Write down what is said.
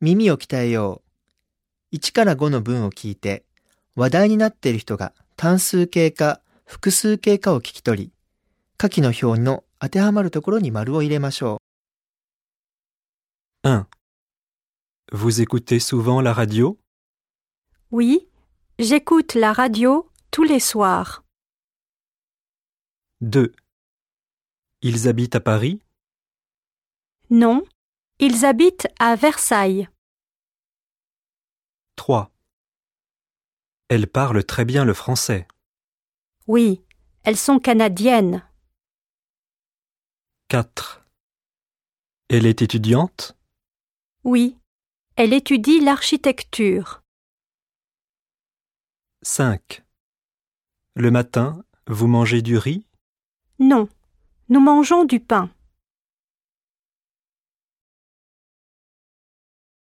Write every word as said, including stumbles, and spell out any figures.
耳を鍛えよう。いちからごの文を聞いて、話題になっている人が単数形か複数形かを聞き取り、下記の表の当てはまるところに丸を入れましょう。un. Vous écoutez souvent la radio? Oui, j'écoute la radio tous les soirs. deux. Ils habitent à Paris? Non, ils habitent à Versailles. trois. Elles parlent très bien le français. Oui, elles sont canadiennes. quatre. Elle est étudiante? Oui, elle étudie l'architecture. cinq. Le matin, vous mangez du riz? Non, nous mangeons du pain.